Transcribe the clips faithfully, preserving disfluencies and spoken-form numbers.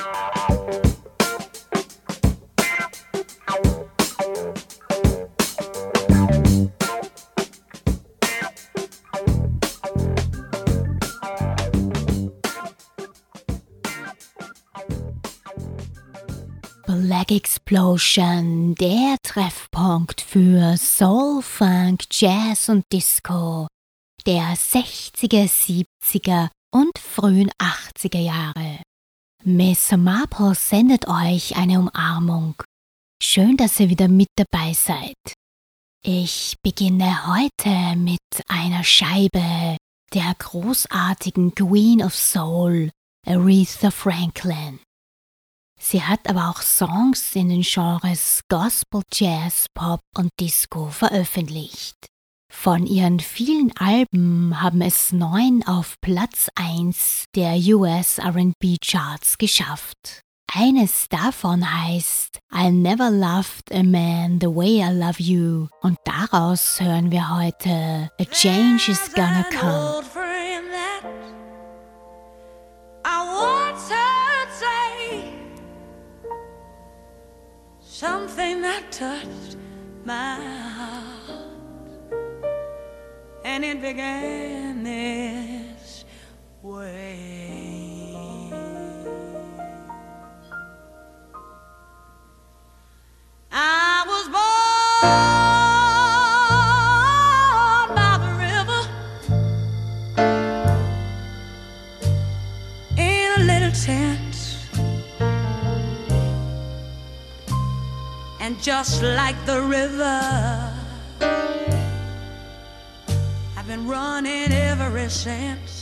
Black Explosion, der Treffpunkt für Soul, Funk, Jazz und Disco der sechziger, siebziger und frühen achtziger Jahre. Miss Marple sendet euch eine Umarmung. Schön, dass ihr wieder mit dabei seid. Ich beginne heute mit einer Scheibe der großartigen Queen of Soul, Aretha Franklin. Sie hat aber auch Songs in den Genres Gospel, Jazz, Pop und Disco veröffentlicht. Von ihren vielen Alben haben es neun auf Platz eins der U S R and B Charts geschafft. Eines davon heißt I Never Loved a Man the Way I Love You und daraus hören wir heute A Change Is Gonna Come. Something that touched my heart, and it began this way. I was born by the river in a little tent. And just like the river, I've been running ever since.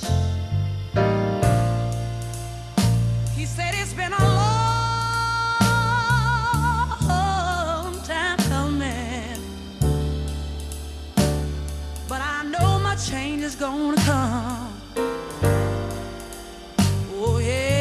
He said it's been a long time coming, but I know my change is gonna come. Oh yeah.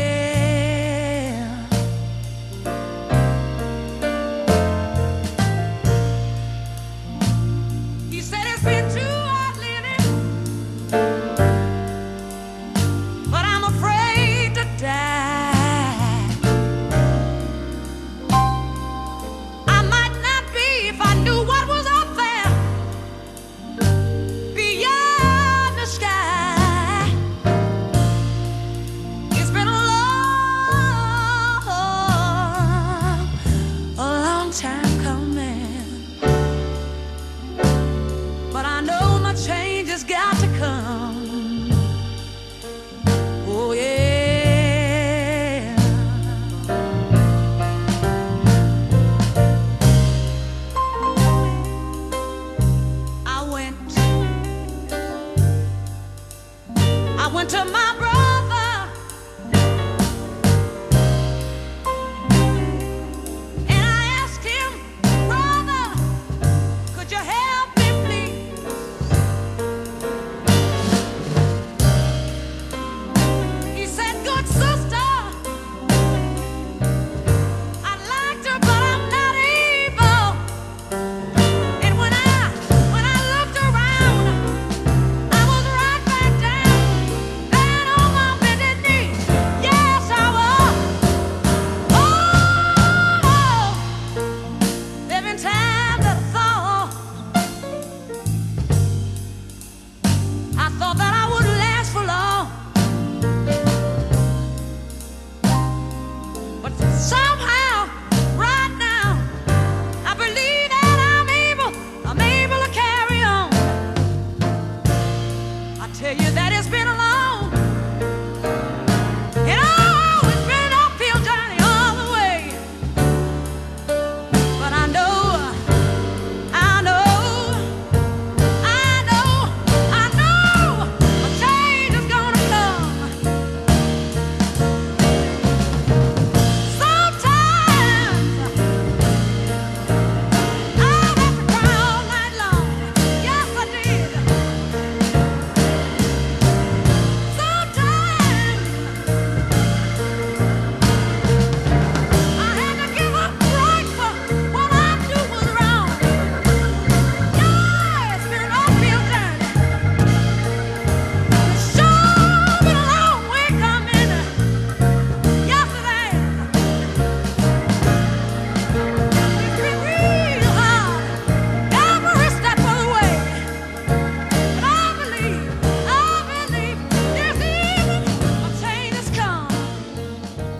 Sometimes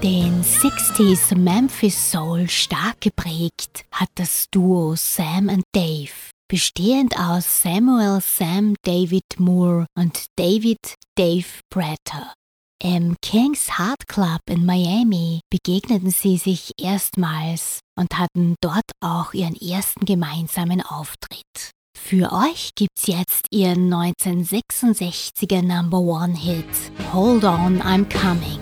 Den sechziger Memphis Soul stark geprägt hat das Duo Sam and Dave, bestehend aus Samuel Sam David Moore und David Dave Prater. Im King's Heart Club in Miami begegneten sie sich erstmals und hatten dort auch ihren ersten gemeinsamen Auftritt. Für euch gibt's jetzt ihren neunzehnhundertsechsundsechziger Number One Hit Hold On, I'm Coming.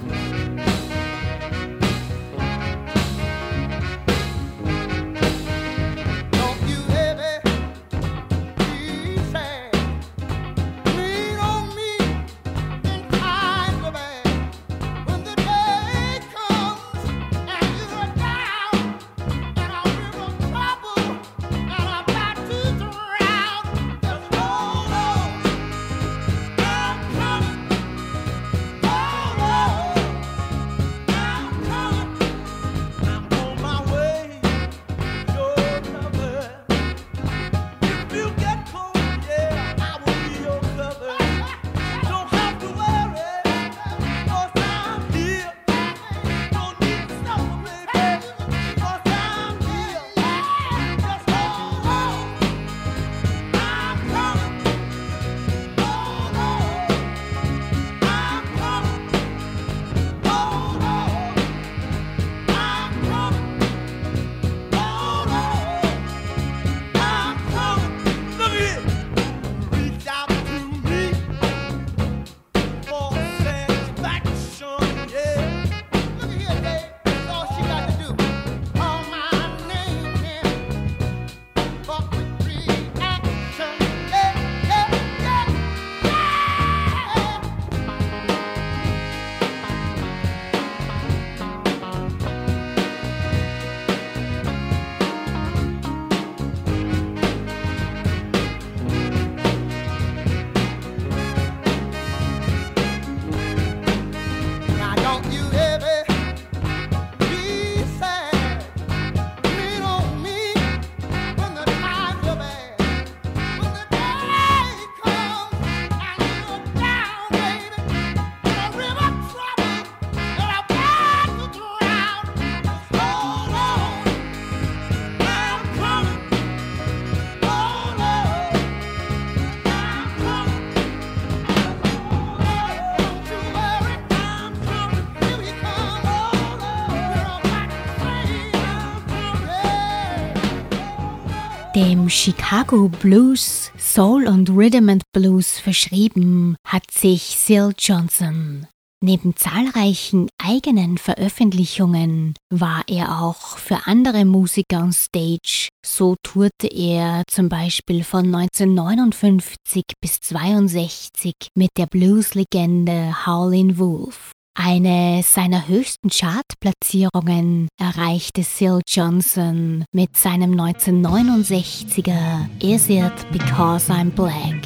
Dem Chicago Blues, Soul und Rhythm and Blues verschrieben hat sich Syl Johnson. Neben zahlreichen eigenen Veröffentlichungen war er auch für andere Musiker on Stage. So tourte er zum Beispiel von neunzehnhundertneunundfünfzig bis zweiundsechzig mit der Blues-Legende Howlin' Wolf. Eine seiner höchsten Chartplatzierungen erreichte Syl Johnson mit seinem neunzehnhundertneunundsechziger Is It Because I'm Black?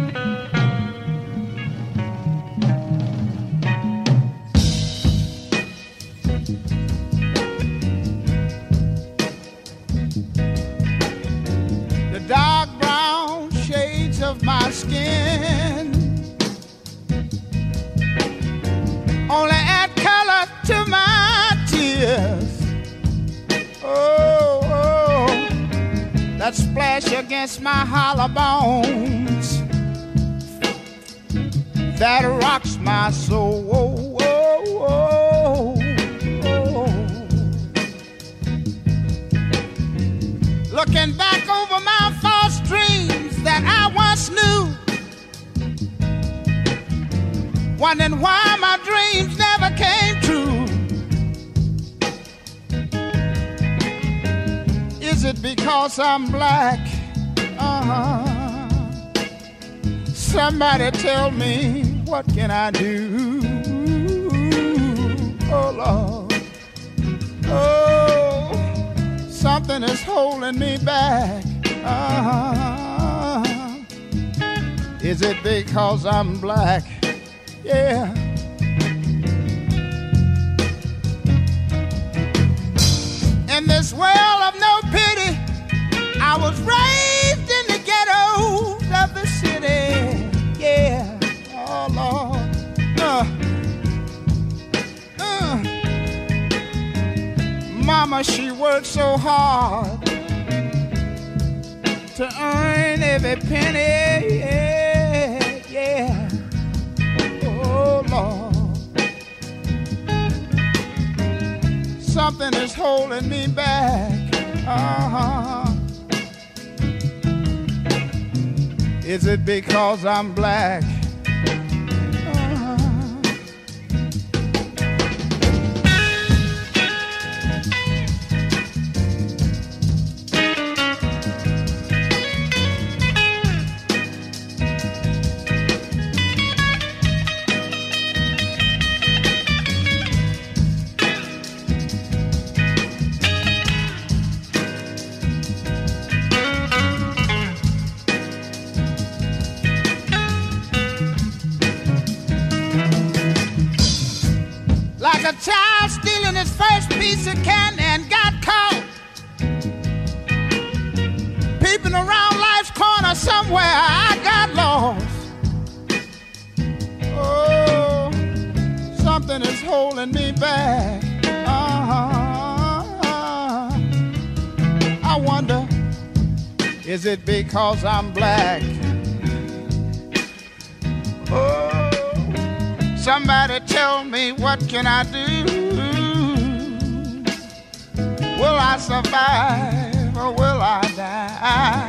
The dark brown shades of my skin only add color to my tears. Oh, oh, that splash against my hollow bones that rocks my soul. Oh, oh, oh, oh. Looking back over my false dreams that I once knew, wondering why my dreams never came true. Is it because I'm black? Uh-huh. Somebody tell me, what can I do? Oh, Lord. Oh, something is holding me back. Uh-huh. Is it because I'm black? Yeah. In this world of no pity, I was raised in the ghettos of the city. Yeah. Oh, Lord. Uh, uh. Mama, she worked so hard to earn every penny, yeah, yeah. Oh, Lord. Something is holding me back, uh-huh. Is it because I'm black? A child stealing his first piece of candy and got caught peeping around life's corner somewhere. I got lost. Oh, something is holding me back. Uh-huh. I wonder, is it because I'm black? Oh, somebody tell me, what can I do? Will I survive or will I die?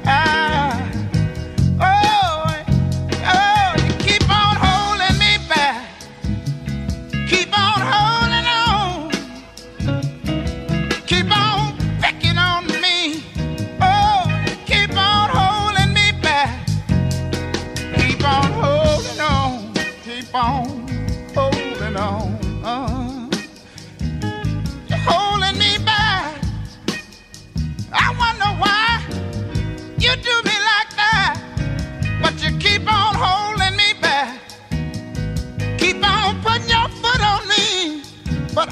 Oh, oh, you keep on holding me back. Keep on holding on. Keep on picking on me. Oh, keep on holding me back. Keep on holding on. Keep on holding on, uh, you're holding me back. I wonder why you do me like that, but you keep on holding me back. Keep on putting your foot on me, but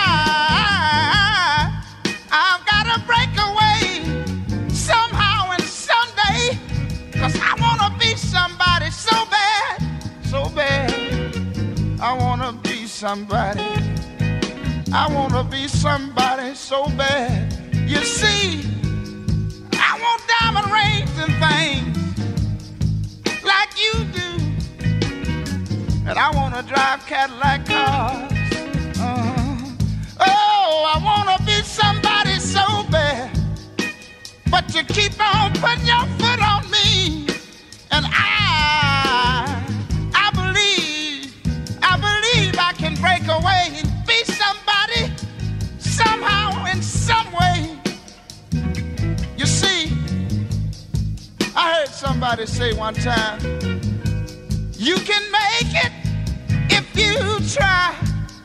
I, I've got to break away somehow and someday, 'cause I want to be somebody so bad, so bad. I wanna be somebody. I wanna be somebody so bad. You see, I want diamond rings and things like you do, and I wanna drive Cadillac cars. Uh-huh. Oh, I wanna be somebody so bad, but you keep on putting your foot on me, and I. I can break away and be somebody somehow in some way. You see, I heard somebody say one time, you can make it if you try.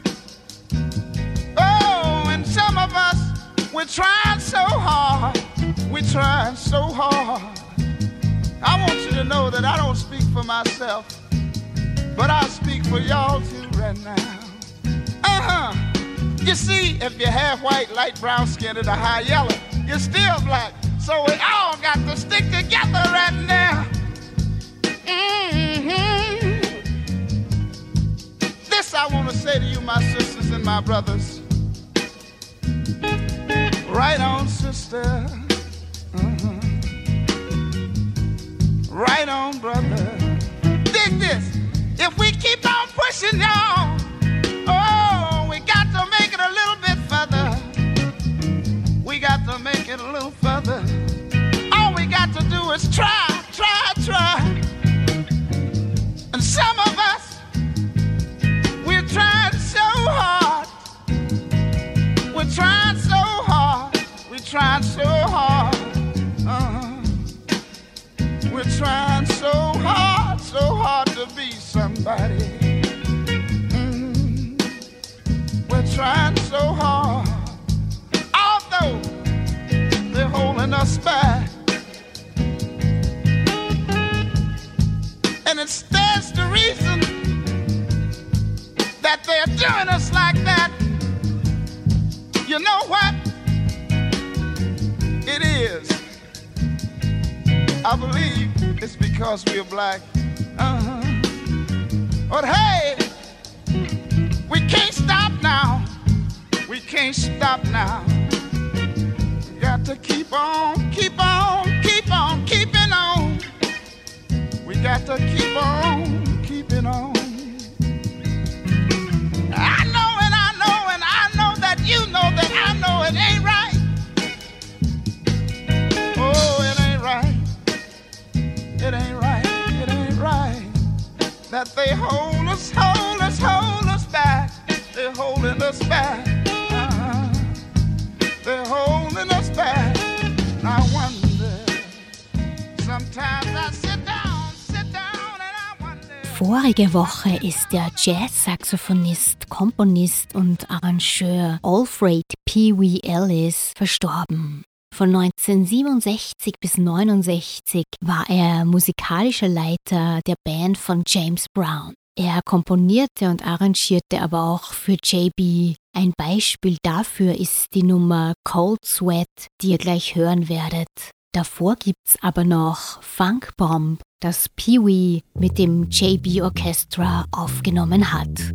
Oh, and some of us, we're trying so hard. We're trying so hard. I want you to know that I don't speak for myself, but I speak for y'all too right now. Uh-huh. You see, if you're half white, light brown skinned, or high yellow, you're still black. So we all got to stick together right now. Mm-hmm. This I want to say to you, my sisters and my brothers. Right on, sister. Mm-hmm. Right on, brother. Dig this. If we keep on pushing, y'all, oh, we got to make it a little bit further. We got to make it a little further. All we got to do is try, try, try. And some of us, we're trying so hard. We're trying so hard. We're trying so hard. Uh-huh. We're trying so hard, so hard to be somebody. Mm. We're trying so hard, although they're holding us back. And it stands to reason that they're doing us like that. You know what? It is. I believe it's because we're black. Uh-huh. But hey, we can't stop now. We can't. can't stop now. Got to keep on, keep on, keep on, keeping on. We got to keep on, keeping on. I know and I know and I know that you know that I know it ain't right. Oh, it ain't right. It ain't right. It ain't right. That they hold us, hold us, hold us back. They're holding us back. Uh-huh. They're holding us back. And I wonder. Sometimes I sit down, sit down and I wonder. Vorige Woche ist der Jazz-Saxophonist, Komponist und Arrangeur Alfred Pee Wee Ellis verstorben. Von neunzehnhundertsiebenundsechzig bis neunundsechzig war er musikalischer Leiter der Band von James Brown. Er komponierte und arrangierte aber auch für J B. Ein Beispiel dafür ist die Nummer Cold Sweat, die ihr gleich hören werdet. Davor gibt's aber noch Funk Bomb, das Pee Wee mit dem J B Orchestra aufgenommen hat.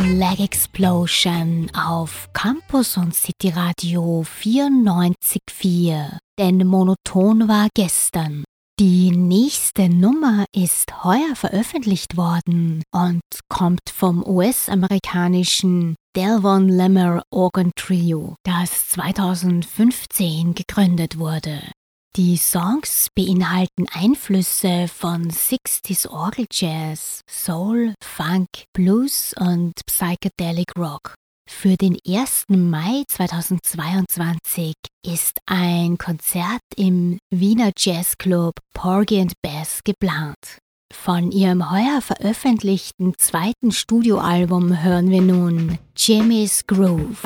Leg Explosion auf Campus und City Radio vierundneunzig Komma vier. Denn monoton war gestern. Die nächste Nummer ist heuer veröffentlicht worden und kommt vom U S-amerikanischen Delvon Lemmer Organ Trio, das zweitausendfünfzehn gegründet wurde. Die Songs beinhalten Einflüsse von sechziger Orgeljazz, Soul, Funk, Blues und Psychedelic Rock. Für den ersten Mai zweitausendzweiundzwanzig ist ein Konzert im Wiener Jazzclub Porgy and Bess geplant. Von ihrem heuer veröffentlichten zweiten Studioalbum hören wir nun Jimmy's Groove.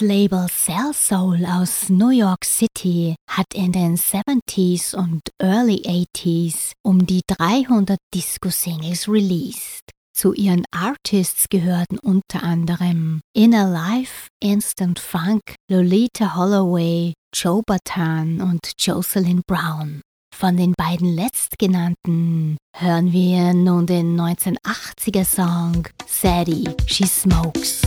Label Cell Soul aus New York City hat in den siebziger und Early achtziger um die dreihundert Disco-Singles released. Zu ihren Artists gehörten unter anderem Inner Life, Instant Funk, Lolita Holloway, Joe Bataan und Jocelyn Brown. Von den beiden letztgenannten hören wir nun den neunzehnhundertachtziger Song Sadie, She Smokes.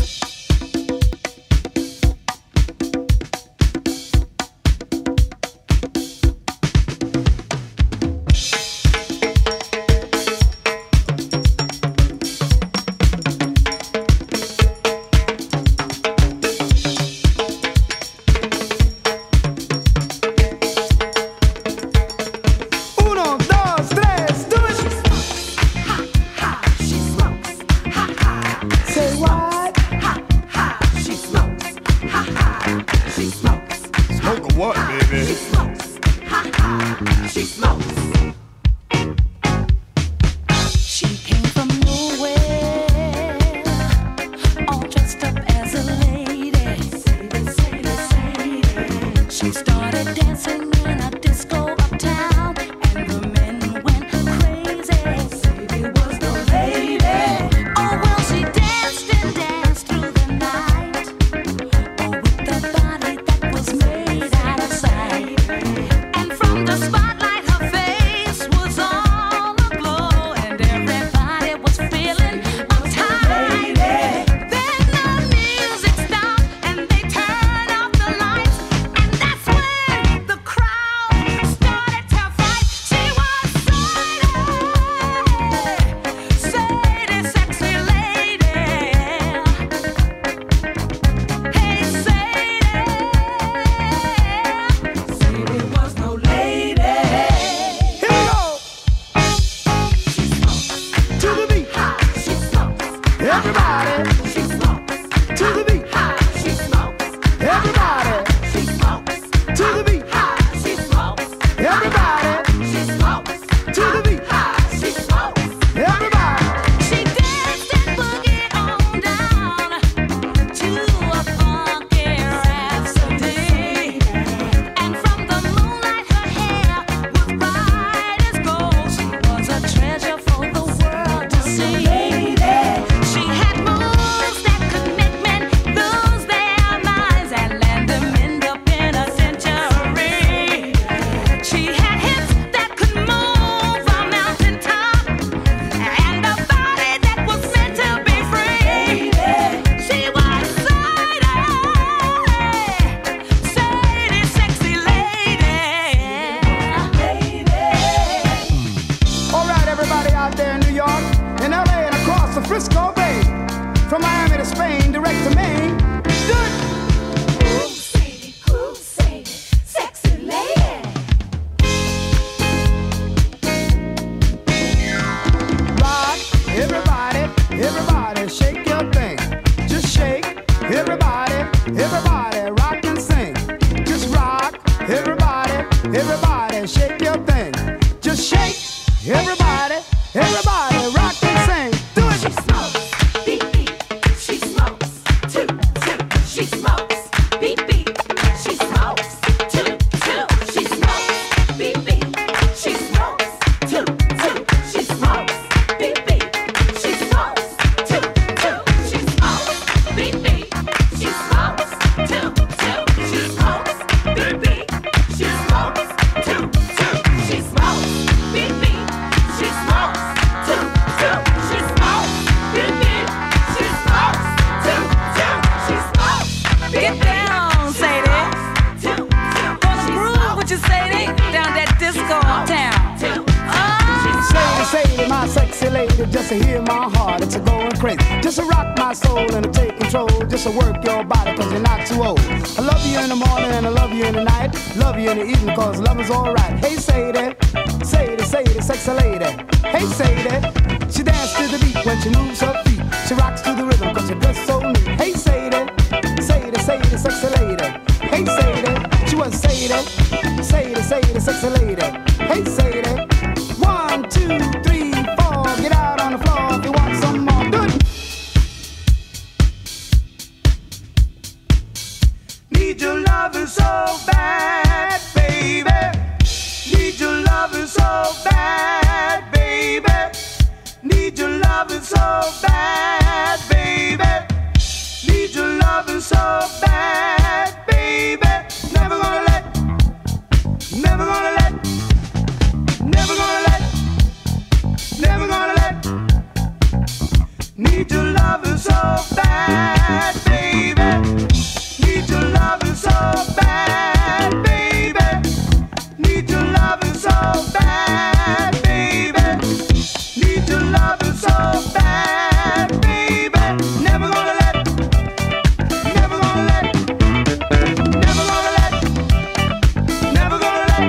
bad, baby. Need your loving so bad, baby. Never gonna let, never gonna let, never gonna let, never gonna let. Need your loving so bad, baby. Need your loving so bad, baby. Need your loving so bad, baby. Need your loving so bad, baby. Never gonna let, never gonna let, never gonna let, never gonna let.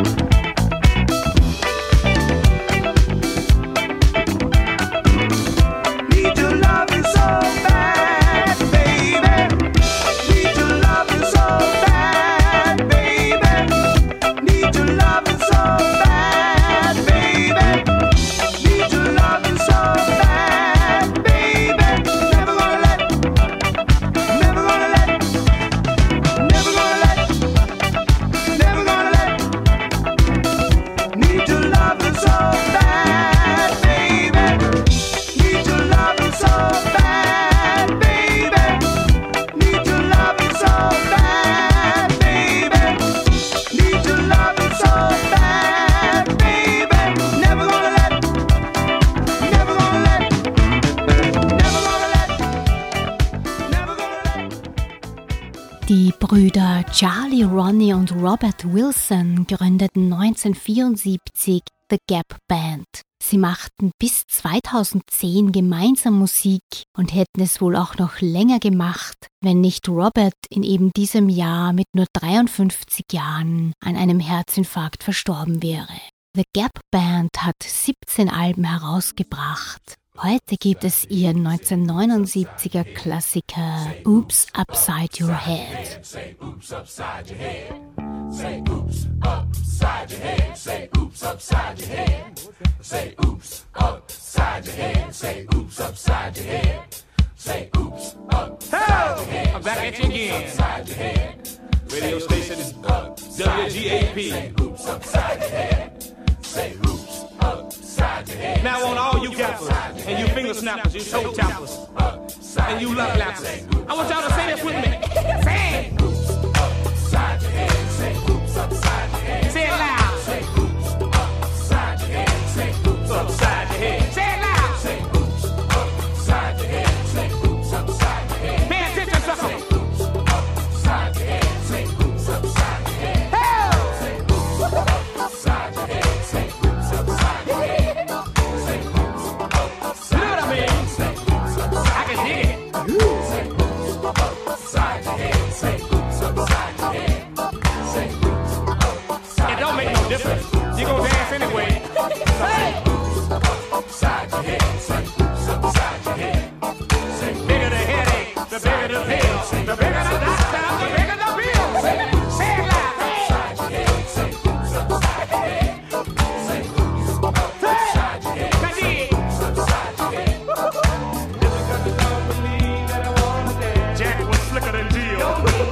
Need your loving so bad, baby. Need your loving so bad, baby. Need your loving so bad, baby. Need your loving so bad, baby. Never gonna let, never gonna let, never gonna let, never gonna let. Need your loving so bad, baby. Need your loving so bad, baby. Need your loving so bad, baby. Need your loving so bad, baby. Never gonna let, never gonna let, never gonna let, never gonna let. Die Brüder Charlie, Ronnie und Robert Wilson gründeten neunzehnhundertvierundsiebzig The Gap Band. Sie machten bis zweitausendzehn gemeinsam Musik und hätten es wohl auch noch länger gemacht, wenn nicht Robert in eben diesem Jahr mit nur dreiundfünfzig Jahren an einem Herzinfarkt verstorben wäre. The Gap Band hat siebzehn Alben herausgebracht. Heute gibt es ihren neunzehnhundertneunundsiebziger Klassiker Oops Upside Your Head. Say oops upside your head. Say oops upside your head. Say oops upside your head. Say oops upside your head. Say oops upside your head. Say oops upside your head. I'm back at you again. Upside your head. Radio station is W G A P. Say oops upside your head. Say oops upside your head. Now on all you gappers and you finger snappers, you toe tappers, and you love lappers, I want y'all to say this with me. Say it. Oops upside your head. Say oops upside your head. Say it loud. Say oops upside your head. Say oops Upside your head. Say it loud. Say oops upside your head. Say oops upside your head. Pay attention, sucker. Say oops upside your head. Say oops upside your head. Say oops upside your head. Say oops upside your head. Say oops upside You know what I mean? Say oops upside I can dig it. Say oops upside your head. Say oops upside your head. Say oops upside It don't make no difference. You gonna dance anyway. Hey. upside your head. Say oops upside your head. Say Bigger the headache, the bigger the pill. The bigger the doctor, the bigger the bill. Say it loud. Hey. upside your head. Say oops upside your head. Say oops upside your head. Now dig it. Upside your head. Jack was slicker than Jill.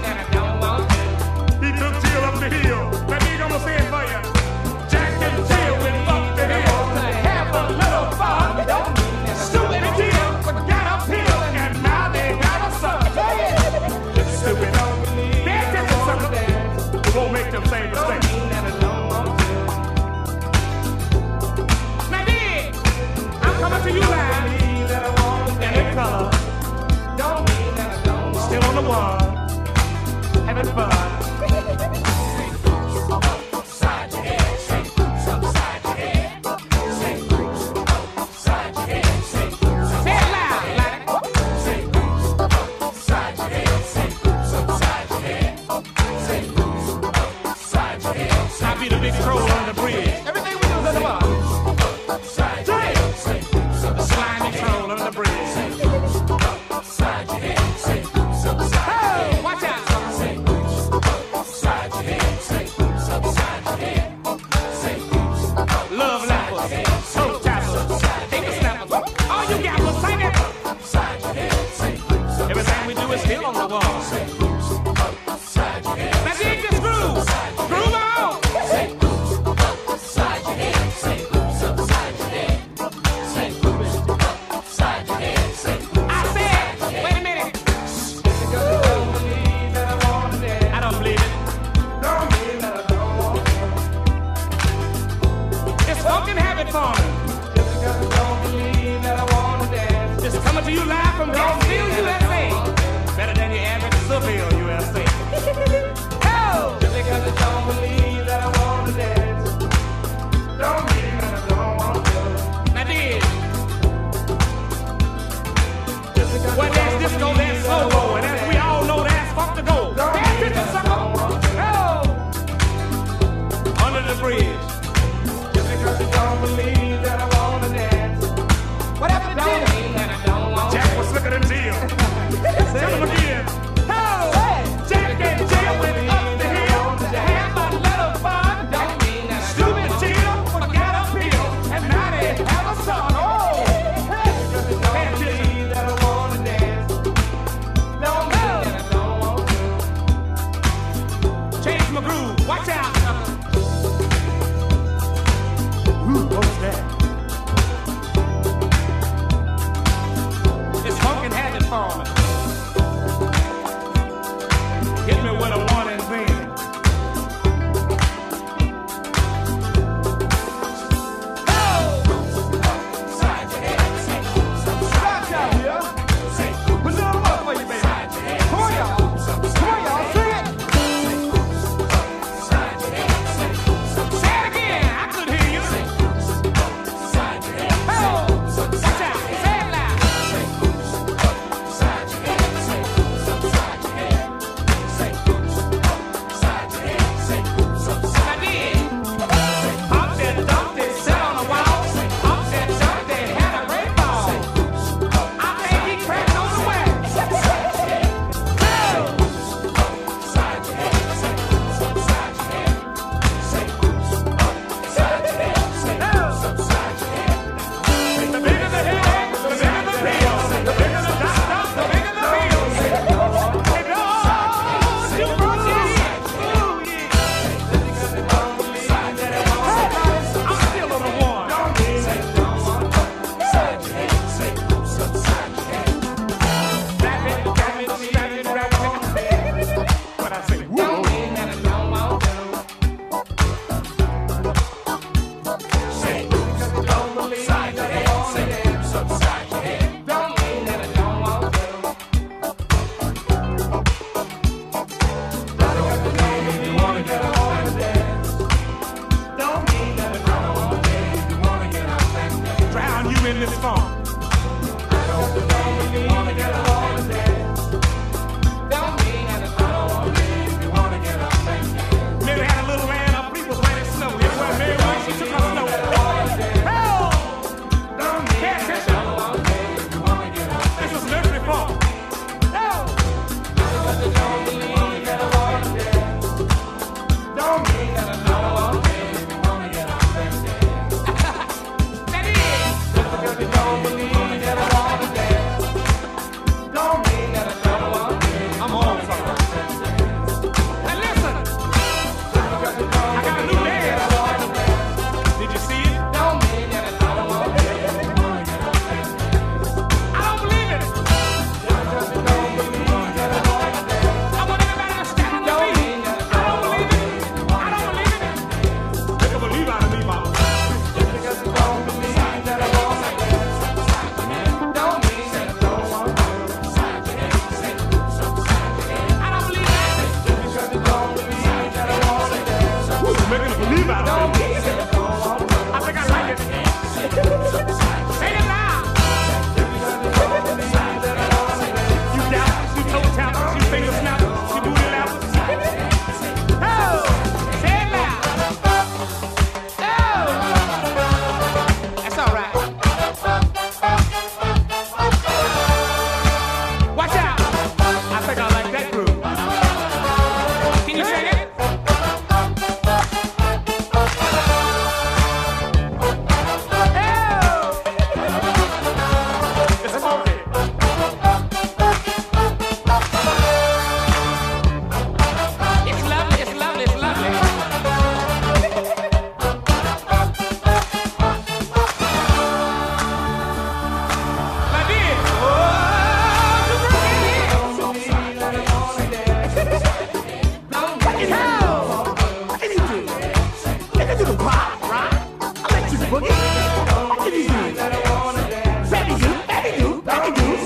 He took Jill up the hill. Now dig, I'm gonna say it for you. Jack and Jill went up the hill. Have a little fun. Stupid and Jill got uphill, and now they got a son. Stupid. Pay attention, sucker. It won't make them same mistake. Now dig, I'm coming to you live. And in color. Still on the wall, having fun. Upside your head. Say oops upside your head. Say oops upside your head. Say oops Say it loud, like Say oops upside your head. Say oops upside your head. Say oops upside your head. I be the big troll on the bridge. Everything we do is under bar. Upside your head. Say oops The slimy troll on the bridge. upside your head. Say oops upside your head. Oh, watch out. Say oops upside your head. Say oops upside your head. Say oops Love lappers, toe tappers, finger snappers. All you gappers, sing it. upside your head. Say oops Everything we do is still on the wall. upside your head. Now dig this groove. Groove on. Say oops upside your head. Say oops upside your head. Say oops upside your head. Say hill. Tell them again. Oh, Jack and Jill went up the hill to have a little fun. Stupid Jill forgot a pill, and now they have a son. Oh, hey, that I wanna dance. Don't mean that I don't want to. Change my groove. Watch out. Ooh, what's that? It's funkin' habit forming. Hit me with a warning thing. Side your head, say oops upside your head. Say oops Put some up for you, baby. upside your head. Come on, y'all. Come on, y'all. Sing it. Side your head, say oops upside Say it again. I could hear you. your head. Oh, watch out. Say it loud. Say oops upside your head. Say oops upside your head. Say oops upside your head. Say oops upside. I did. Hop that, dump that, sit on the wall. Hop that, dump that, had a great ball. I think he cracked on the way. Side your head. Say oops upside your head. Say oops upside your head. Say oops upside your head. The bigger the headache, the bigger the pill. The bigger the doctor, the bigger the bill. Hey, Lord, you broke it. Ooh, yeah. I'm still on the one. Side your head. Say oops upside your head. Rap it, rap it, rap it, rap it. What I say? Whoa. Say oops upside your head. Say oops upside your head. Drown you in this funk. Maybe had a little land up, people when it snowed. Everywhere Mary went, she took her snow. Hell! Pay attention. This is nursery funk. Hell! That is. I'm on something. Now listen. I got a new dance. Did you see it? I don't believe it. I want everybody to stand on their feet. I don't believe it. I don't believe it. Make a believe out of me, mama. I don't believe that. Woo, you're making a believe out of me. I think I like it. Say it loud. You doubters, you toe tappers, you finger snappers, you booty lappers. Oh, say it loud. Oh, that's all right. Watch out. I think I like that groove. Can you sing it? Oh! It's funky. It's lovely, it's lovely, it's lovely. Like this. Oh, you bring it in. Hell! I can do it. I can do the pop, right? I let you boogie. I can do it. Baby, you, baby, you, baby, you.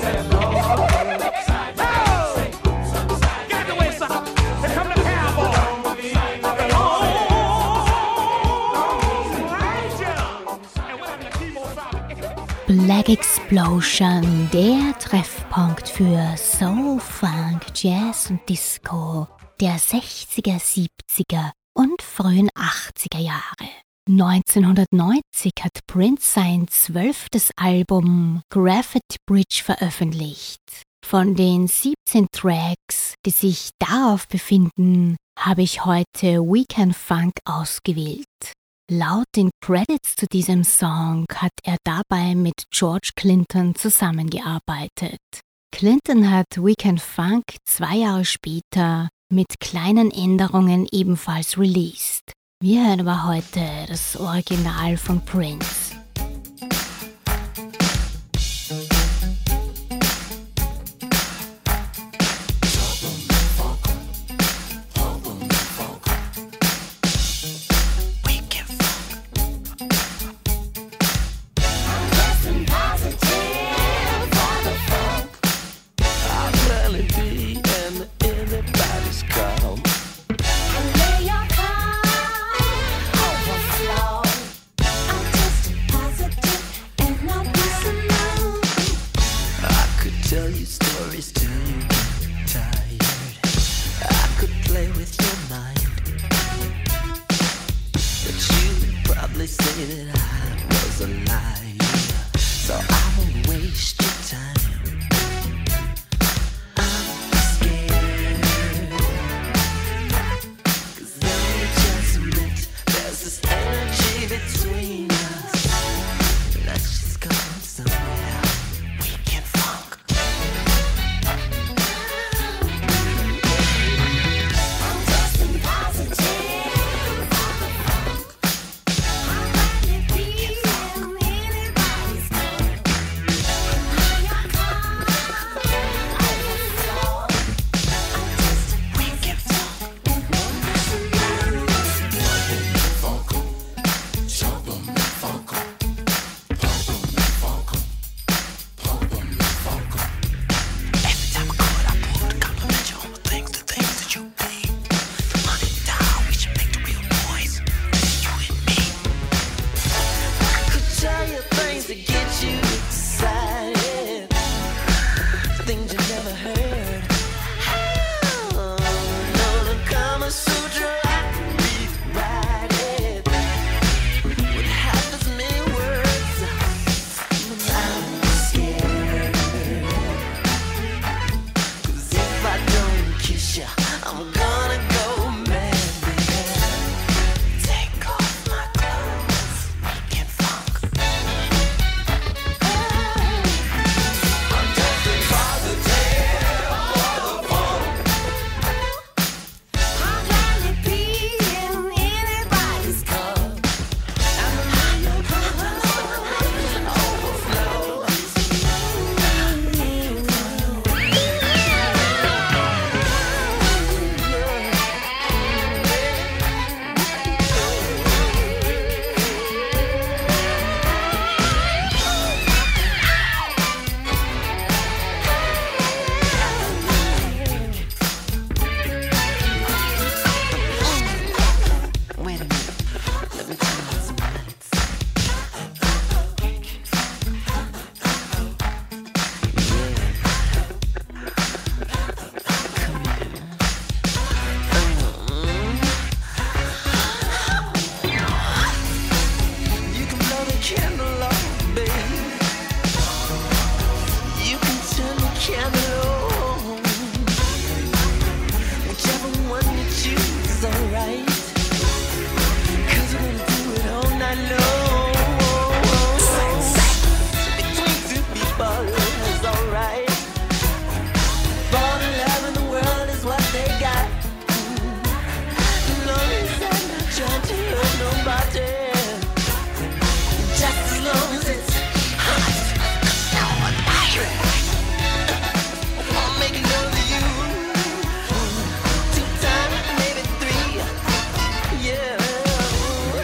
Oh! Get out the way, sucker. Here come the cowboy. Oh, Ranger. And whatever the keyboard sound. Black Explosion, der Treffpunkt für Soul, Funk, Jazz und Disco der sechziger, siebziger und frühen achtziger Jahre. neunzehnhundertneunzig hat Prince sein zwölftes Album Graffiti Bridge veröffentlicht. Von den siebzehn Tracks, die sich darauf befinden, habe ich heute Weekend Funk ausgewählt. Laut den Credits zu diesem Song hat er dabei mit George Clinton zusammengearbeitet. Clinton hat Weekend Funk zwei Jahre später mit kleinen Änderungen ebenfalls released. Wir hören aber heute das Original von Prince.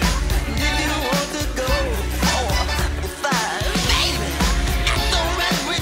With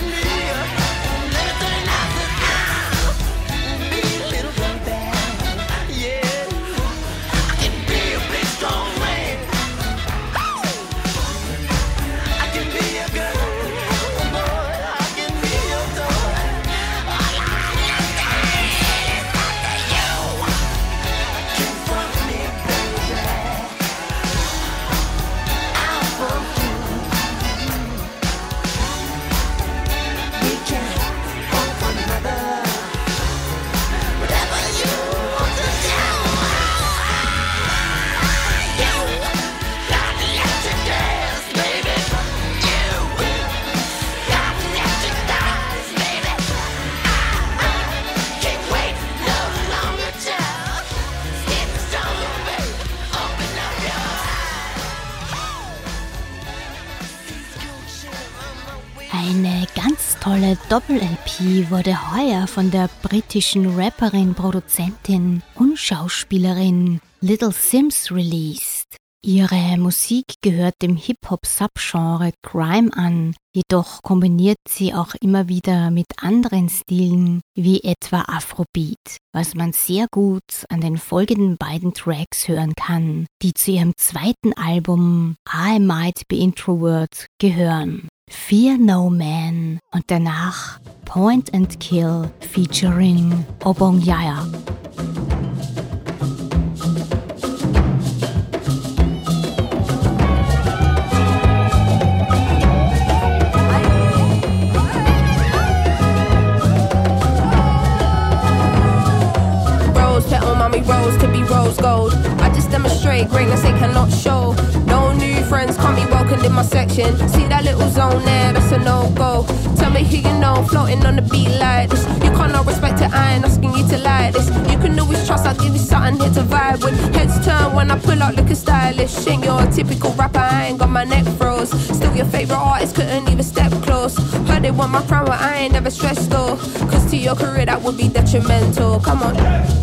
Eine ganz tolle Doppel-L P wurde heuer von der britischen Rapperin, Produzentin und Schauspielerin Little Simz released. Ihre Musik gehört dem Hip-Hop-Subgenre Grime an, jedoch kombiniert sie auch immer wieder mit anderen Stilen wie etwa Afrobeat, was man sehr gut an den folgenden beiden Tracks hören kann, die zu ihrem zweiten Album I Might Be Introvert gehören. Fear No Man und danach Point and Kill featuring Obongyaya. Rose to be rose gold. I just demonstrate greatness they cannot show. No new friends can't be welcomed in my section. See that little zone there, that's a no-go. Tell me who you know, floating on the beat like this. You can't not respect it, I ain't asking you to like this. You can always trust, I'll give you something here to vibe with. Heads turn when I pull out looking stylish. Ain't your typical rapper, I ain't got my neck froze. Still your favourite artist, couldn't even step close. Heard they want my crown, but I ain't never stressed though. Cause to your career that would be detrimental. Come on.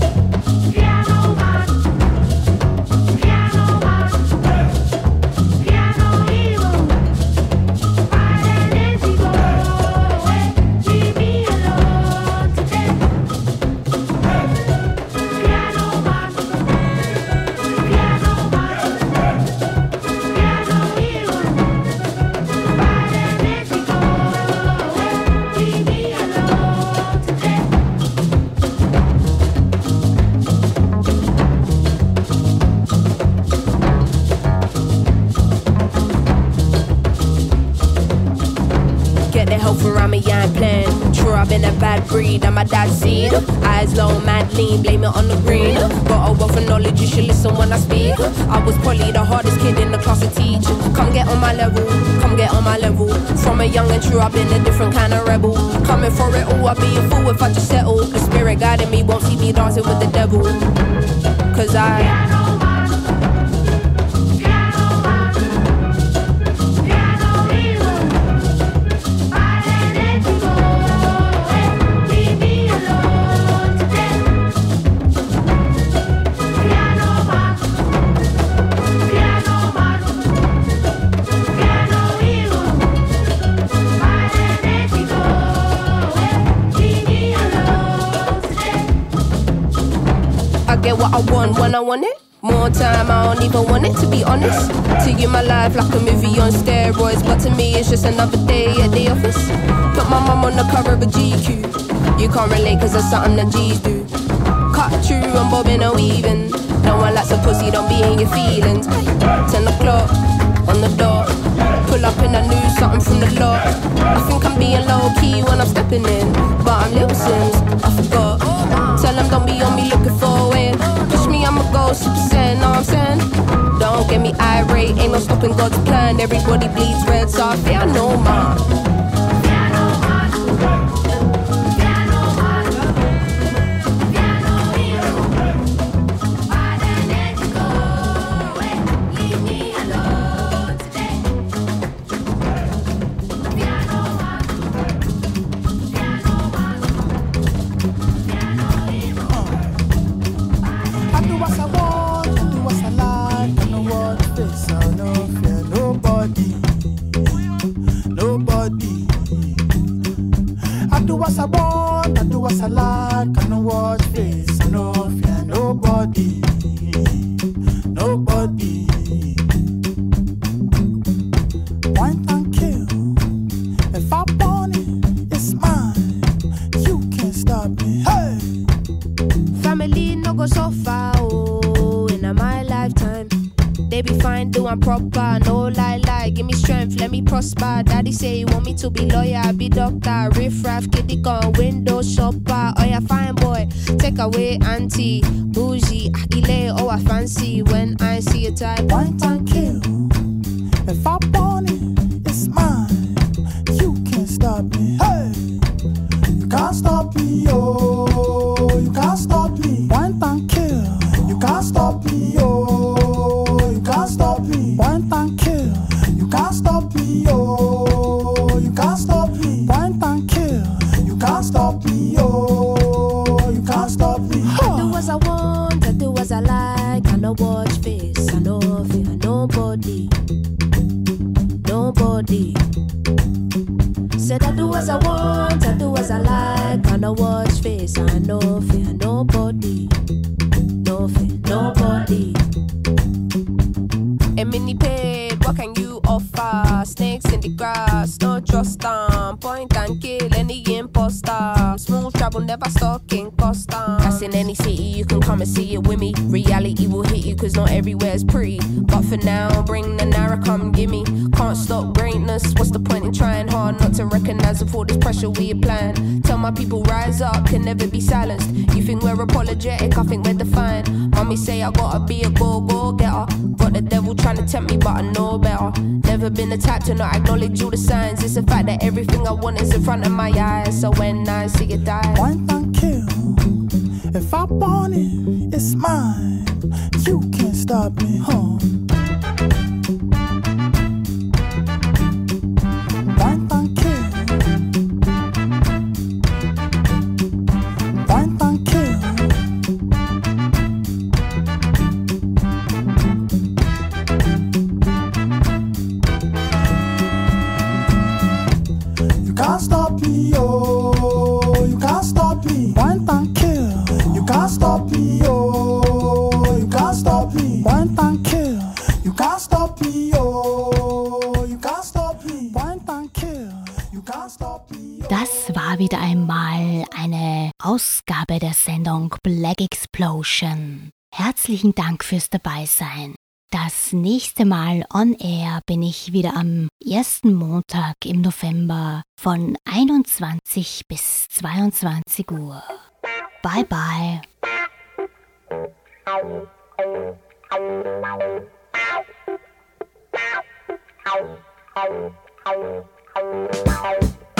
Breed, I'm my dad's seed. Eyes low, mad lean, blame it on the green. Got a wealth of knowledge, you should listen when I speak. I was probably the hardest kid in the class to teach. Come get on my level, come get on my level. From a young and true, I've been a different kind of rebel. Coming for it all, I'd be a fool if I just settle. The spirit guiding me won't see me dancing with the devil. Cause I... Get what I want when I want it. More time, I don't even want it, to be honest. To you my life like a movie on steroids, but to me it's just another day at the office. Put my mum on the cover of a G Q. You can't relate cause it's something that G's do. Cut through, I'm bobbing or weaving. No one likes a pussy, don't be in your feelings. Ten o'clock, on the dot. Pull up and I knew something from the lot. I think I'm being low key when I'm stepping in, but I'm Lil Sims, I forgot. Tell them don't be on me looking for a win. Push me, I'ma go six percent, know what I'm saying? Don't get me irate, ain't no stopping God's plan. Everybody bleeds red, so I fear no man. Daddy say he want me to be lawyer, I be doctor. Riff raff, kitty gun, window shopper. Oh yeah, fine boy, take away auntie. Bougie, akile, oh I fancy. When I see a type, point and kill. If I want it, it's mine. You can't stop me. Hey, you can't stop me, oh. You can't stop me. Point and kill. You can't stop me, oh. You can't stop me. Point and kill. You can't stop me, oh. You can't stop do as I want, I do as I like. I know watch face, I no fear nobody. No fear nobody. A mini paid, what can you offer? Snakes in the grass, no trust them. Point and kill any imposter. Smooth travel, never stalking Costa. That's in any city, you can come and see it with me. Reality will hit you, cause not everywhere's pretty. But for now, bring the Nara, come gimme. Can't stop greatness, what's the point in trying hard not to recognize of all this pressure we applying? Tell my people rise up, can never be silenced. You think we're apologetic, I think we're defiant. Mommy say I gotta be a go-go-getter. Got the devil trying to tempt me, but I know better. Never been the type to not acknowledge all the signs. It's the fact that everything I want is in front of my eyes. So when I see it die, Point and kill. If I want it, it's mine. You can't stop me, huh? Point and kill. Point and kill. You can't stop me, oh. You can't stop me. Point and kill. You can't stop me, oh. You can't stop me. Point and kill. You can't stop me, oh. You can't stop me. Point and kill. You can't stop me. Oh. Das war wieder einmal eine Ausgabe der Sendung Black Explosion. Herzlichen Dank fürs Dabeisein. Das nächste Mal on air bin ich wieder am ersten Montag im November von einundzwanzig bis zweiundzwanzig Uhr. Bye bye. Ow.